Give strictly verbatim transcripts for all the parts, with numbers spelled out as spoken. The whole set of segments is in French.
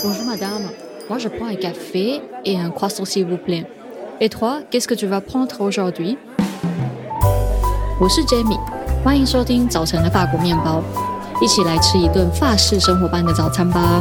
Bonjour madame, moi je prends un café et un croissant s'il vous plaît. Et toi, qu'est-ce que tu vas prendre aujourd'hui? 我是 Jamie， 歡迎收聽早晨的法國麵包，一起來吃一頓法式生活般的早餐吧。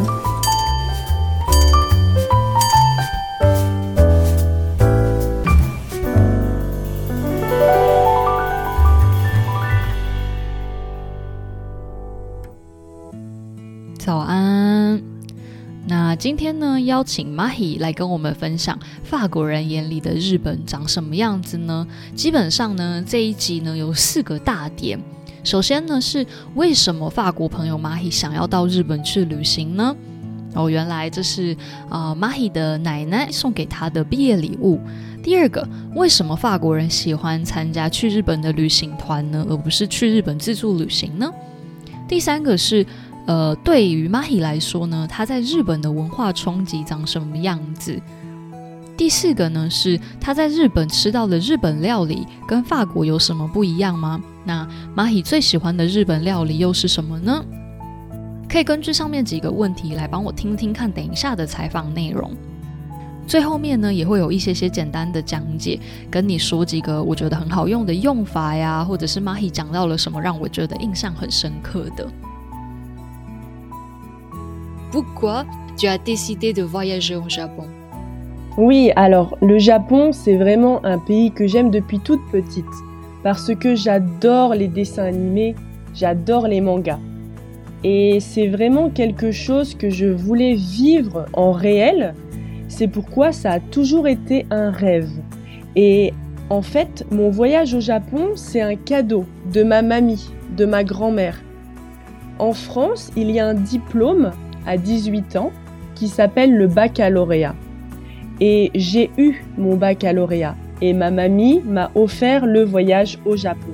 早安。那今天呢，邀請 Mahi 來跟我們分享法國人眼裡的日本長什麼樣子呢？基本上呢，這一集呢有四個大點。首先呢，是為什麼法國朋友 Mahi 想要到日本去旅行呢？哦，原來這是呃 Mahi 的奶奶送給他的畢業禮物。第二個，為什麼法國人喜歡參加去日本的旅行團呢，而不是去日本自助旅行呢？第三個是呃，對於 Mahi 來說呢，他在日本的文化衝擊長什麼樣子？第四個呢，是他在日本吃到的日本料理跟法國有什麼不一樣嗎？那 Mahi 最喜歡的日本料理又是什麼呢？可以根據上面幾個問題來幫我聽聽看等一下的採訪內容。最後面呢，也會有一些些簡單的講解，跟你說幾個我覺得很好用的用法呀，或者是 Mahi 講到了什麼讓我覺得印象很深刻的。Pourquoi tu as décidé de voyager au Japon? Oui, alors le Japon, c'est vraiment un pays que j'aime depuis toute petite parce que j'adore les dessins animés, j'adore les mangas. Et c'est vraiment quelque chose que je voulais vivre en réel. C'est pourquoi ça a toujours été un rêve. Et en fait, mon voyage au Japon, c'est un cadeau de ma mamie, de ma grand-mère. En France, il y a un diplôme à dix-huit ans qui s'appelle le baccalauréat. Et j'ai eu mon baccalauréat et ma mamie m'a offert le voyage au Japon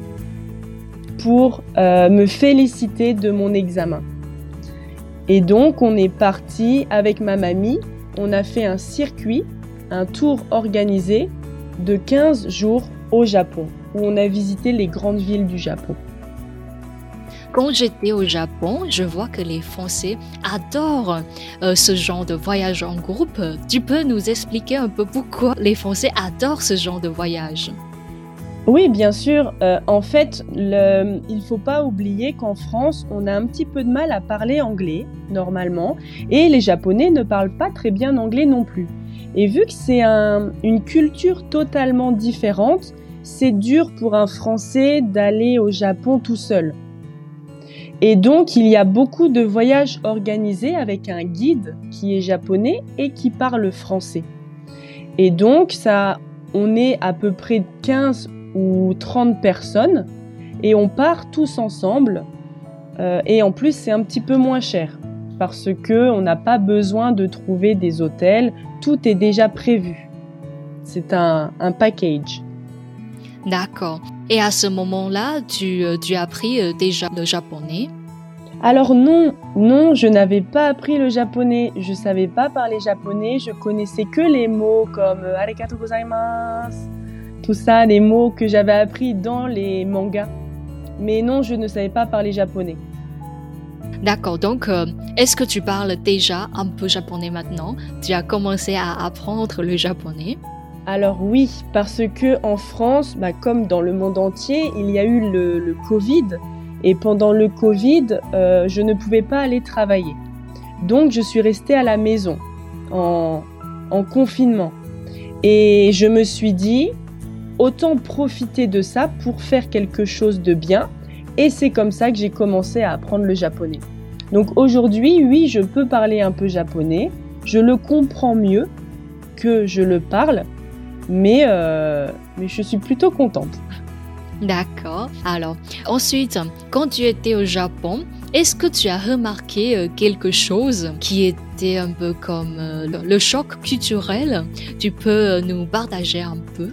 pour euh, me féliciter de mon examen. Et donc on est parti avec ma mamie, on a fait un circuit, un tour organisé de quinze jours au Japon où on a visité les grandes villes du Japon. Quand j'étais au Japon, je vois que les Français adorent euh, ce genre de voyage en groupe. Tu peux nous expliquer un peu pourquoi les Français adorent ce genre de voyage? Oui, bien sûr. Euh, en fait, le, il ne faut pas oublier qu'en France, on a un petit peu de mal à parler anglais, normalement, et les Japonais ne parlent pas très bien anglais non plus. Et vu que c'est un, une culture totalement différente, c'est dur pour un Français d'aller au Japon tout seul. Et donc, il y a beaucoup de voyages organisés avec un guide qui est japonais et qui parle français. Et donc, ça, on est à peu près quinze ou trente personnes et on part tous ensemble. Euh, et en plus, c'est un petit peu moins cher parce qu'on n'a pas besoin de trouver des hôtels. Tout est déjà prévu. C'est un, un package. D'accord. Et à ce moment-là, tu, tu as appris déjà le japonais? Alors non, non, je n'avais pas appris le japonais. Je ne savais pas parler japonais. Je connaissais que les mots comme « arigatou gozaimasu », tout ça, les mots que j'avais appris dans les mangas. Mais non, je ne savais pas parler japonais. D'accord, donc euh, est-ce que tu parles déjà un peu japonais maintenant? Tu as commencé à apprendre le japonais? Alors oui, parce que en France, bah, comme dans le monde entier, il y a eu le, le Covid. Et pendant le Covid, euh, je ne pouvais pas aller travailler. Donc je suis restée à la maison, en, en confinement. Et je me suis dit, autant profiter de ça pour faire quelque chose de bien. Et c'est comme ça que j'ai commencé à apprendre le japonais. Donc aujourd'hui, oui, je peux parler un peu japonais. Je le comprends mieux que je le parle. Mais, euh, mais je suis plutôt contente. D'accord. Alors, ensuite, quand tu étais au Japon, est-ce que tu as remarqué euh, quelque chose qui était un peu comme euh, le, le choc culturel? Tu peux nous partager un peu?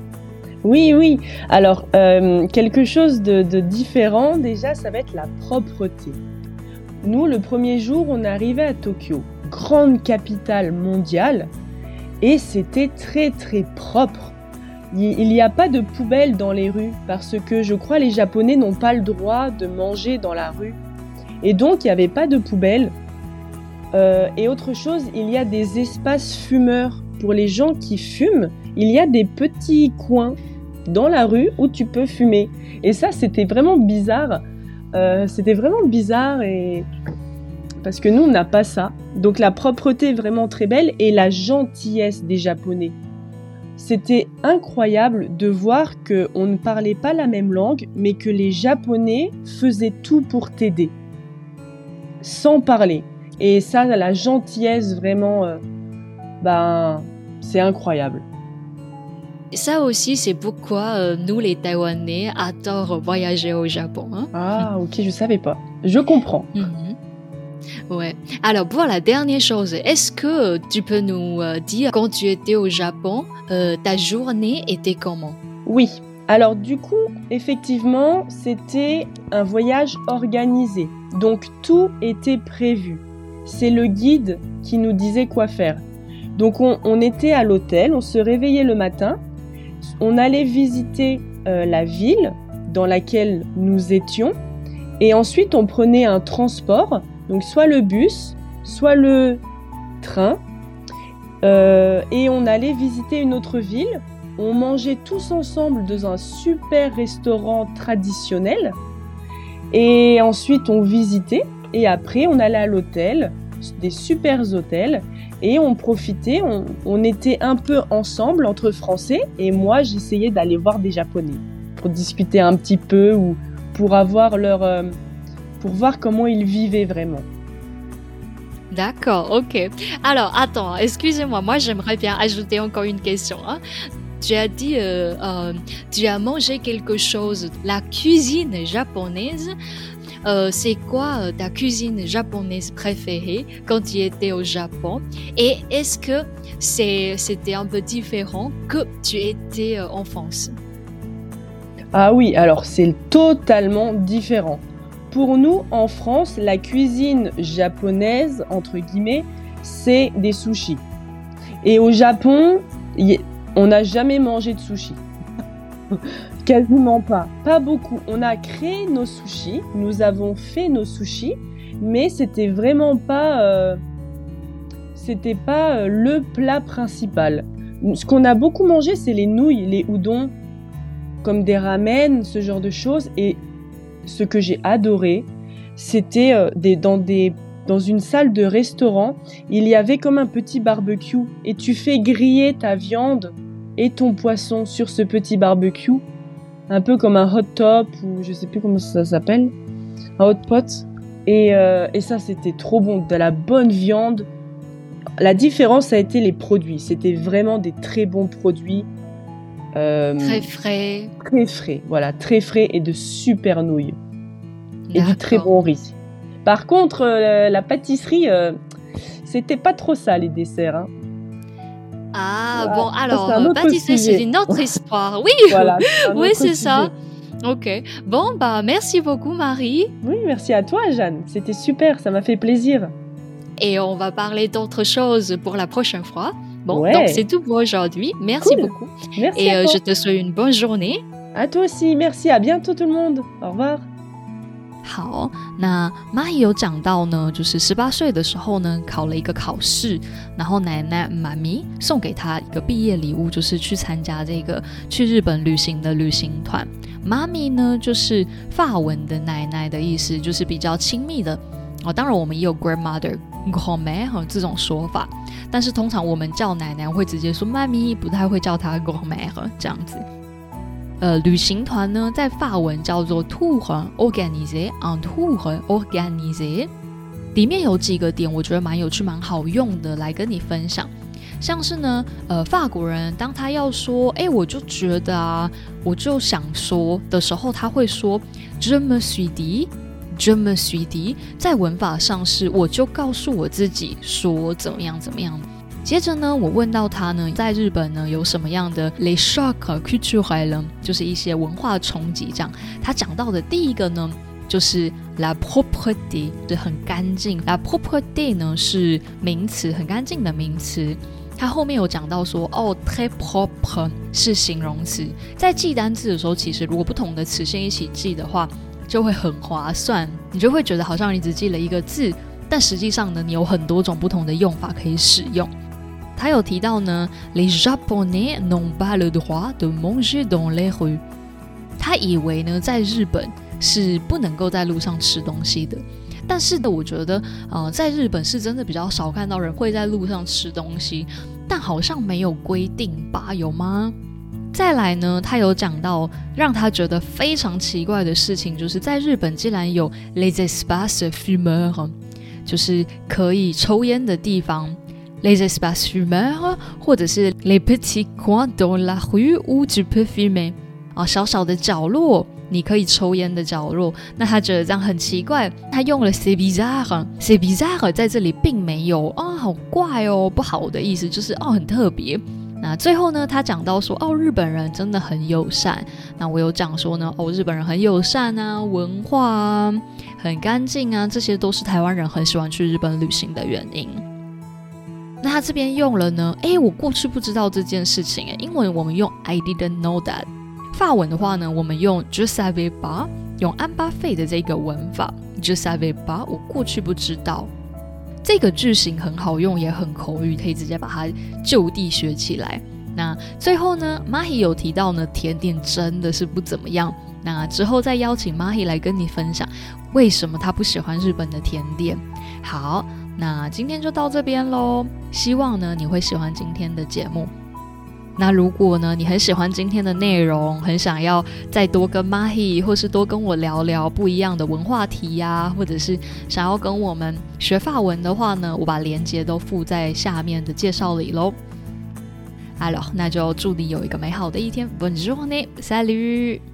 Oui, oui. Alors, euh, quelque chose de, de différent, déjà, ça va être la propreté. Nous, le premier jour, on est arrivé à Tokyo, grande capitale mondiale. Et c'était très très propre. Il n'y a pas de poubelle dans les rues parce que je crois les Japonais n'ont pas le droit de manger dans la rue. Et donc il n'y avait pas de poubelle. Euh, et autre chose, il y a des espaces fumeurs. Pour les gens qui fument, il y a des petits coins dans la rue où tu peux fumer. Et ça, c'était vraiment bizarre. Euh, c'était vraiment bizarre et... parce que nous, on n'a pas ça. Donc la propreté est vraiment très belle et la gentillesse des Japonais. C'était incroyable de voir qu'on ne parlait pas la même langue, mais que les Japonais faisaient tout pour t'aider, sans parler. Et ça, la gentillesse, vraiment, euh, ben, c'est incroyable. Ça aussi, c'est pourquoi euh, nous, les Taïwanais, adorent voyager au Japon. Hein? Ah, ok, je savais pas. Je comprends. Mm-hmm. Ouais. Alors, pour la dernière chose, est-ce que tu peux nous euh, dire, quand tu étais au Japon, euh, ta journée était comment? Oui. Alors, du coup, effectivement, c'était un voyage organisé. Donc, tout était prévu. C'est le guide qui nous disait quoi faire. Donc, on, on était à l'hôtel, on se réveillait le matin. On allait visiter euh, la ville dans laquelle nous étions et ensuite on prenait un transport, donc soit le bus, soit le train euh, et on allait visiter une autre ville. On mangeait tous ensemble dans un super restaurant traditionnel et ensuite on visitait et après on allait à l'hôtel, des super hôtels. Et on profitait, on, on était un peu ensemble entre Français et moi j'essayais d'aller voir des Japonais pour discuter un petit peu ou pour avoir leur, euh, pour voir comment ils vivaient vraiment. D'accord, ok. Alors attends, excusez-moi, moi j'aimerais bien ajouter encore une question. Hein. Tu as dit, euh, euh, tu as mangé quelque chose, la cuisine japonaise. Euh, c'est quoi euh, ta cuisine japonaise préférée quand tu étais au Japon? Et est-ce que c'est, c'était un peu différent que tu étais euh, en France? Ah oui, alors c'est totalement différent. Pour nous, en France, la cuisine japonaise, entre guillemets, c'est des sushis. Et au Japon, y... on n'a jamais mangé de sushis. Quasiment pas, pas beaucoup. On a créé nos sushis, nous avons fait nos sushis, mais c'était vraiment pas, euh, c'était pas euh, le plat principal. Ce qu'on a beaucoup mangé, c'est les nouilles, les udon, comme des ramen, ce genre de choses. Et ce que j'ai adoré, c'était euh, des, dans des, dans une salle de restaurant, il y avait comme un petit barbecue et tu fais griller ta viande et ton poisson sur ce petit barbecue. Un peu comme un hot top ou je sais plus comment ça s'appelle, un hot pot. Et, euh, et ça, c'était trop bon, de la bonne viande. La différence a été les produits. C'était vraiment des très bons produits. Euh, très frais. Très frais, voilà, très frais et de super nouilles. D'accord. Et du très bon riz. Par contre, euh, la pâtisserie, euh, c'était pas trop ça les desserts. Hein. Ah voilà. Bon, alors, pâtisserie, c'est une autre histoire. Oui, voilà, c'est oui, c'est sujet. Ça. Ok. Bon, bah, merci beaucoup, Marie. Oui, merci à toi, Jeanne. C'était super, ça m'a fait plaisir. Et on va parler d'autres choses pour la prochaine fois. Bon, ouais. Donc c'est tout pour aujourd'hui. Merci cool. Beaucoup. Merci Et à euh, toi. Je te souhaite une bonne journée. À toi aussi, merci. À bientôt tout le monde. Au revoir。 好，那蚂蚁有講到呢，就是十八歲的時候呢，考了一個考試，然後奶奶媽咪送給他一個畢業禮物，就是去參加這個去日本旅行的旅行團。媽咪呢，就是法文的奶奶的意思，就是比較親密的。哦，當然我們也有 grandmother、grand-mère 這種說法，但是通常我們叫奶奶會直接說媽咪，不太會叫她 grand-mère 這樣子。呃，旅行團呢，在法文叫做 tour organisé，un tour organisé， 裡面有幾個點，我覺得蠻有趣、蠻好用的，來跟你分享。像是呢，呃，法國人當他要說，哎，我就覺得啊，我就想說的時候，他會說 je me suis dit，je me suis dit， 在文法上是我就告訴我自己說怎麼樣怎麼樣。接着呢，我問到他呢，在日本呢有什麼樣的 les chocs culturels， 就是一些文化衝擊這樣。他講到的第一個呢，就是 la propreté， 就很乾淨。la propreté 呢是名詞，很乾淨的名詞。他後面有講到說，哦 très propre 是形容詞。在記單字的時候，其實如果不同的詞先一起記的話，就會很划算，你就會覺得好像你只記了一個字。 但實際上呢，你有很多種不同的用法可以使用。他有提到呢 Les Japonais n'ont pas le droit de manger dans les rues。 他以為呢，在日本是不能夠在路上吃東西的。但是呢，我覺得呃，在日本是真的比較少看到人會在路上吃東西，但好像沒有規定吧？有嗎？再來呢，他有講到讓他覺得非常奇怪的事情，就是在日本竟然有 les espaces fumeurs， 就是可以抽煙的地方。Les espaces fumeurs， 或者是 les petits coins dans la rue où tu peux fumer， 啊，小小的角落你可以抽煙的角落。那他覺得這樣很奇怪，他用了 c'est bizarre，c'est bizarre 在這裡並沒有啊、哦，好怪哦，不好的意思，就是哦很特別。那最後呢，他講到說哦，日本人真的很友善。那我有講說呢，哦，日本人很友善啊，文化啊，很乾淨啊，這些都是台灣人很喜歡去日本旅行的原因。那他這邊用了呢，誒，我過去不知道這件事情，誒，英文我們用 I didn't know that， 法文的話呢，我們用 je savais pas， 用安巴費的這個文法 je savais pas， 我過去不知道。這個句型很好用，也很口語，可以直接把它就地學起來。那最後呢， Mahi 有提到呢，甜點真的是不怎麼樣。那之後再邀請 Mahi 來跟你分享為什麼他不喜歡日本的甜點。好，那今天就到這邊咯，希望呢你會喜歡今天的節目。那如果呢你很喜歡今天的內容，很想要再多跟 Mahi 或是多跟我聊聊不一樣的文化題啊，或者是想要跟我們學法文的話呢，我把連結都附在下面的介紹裡咯。好了，那就祝你有一個美好的一天。Bonne journée，salut。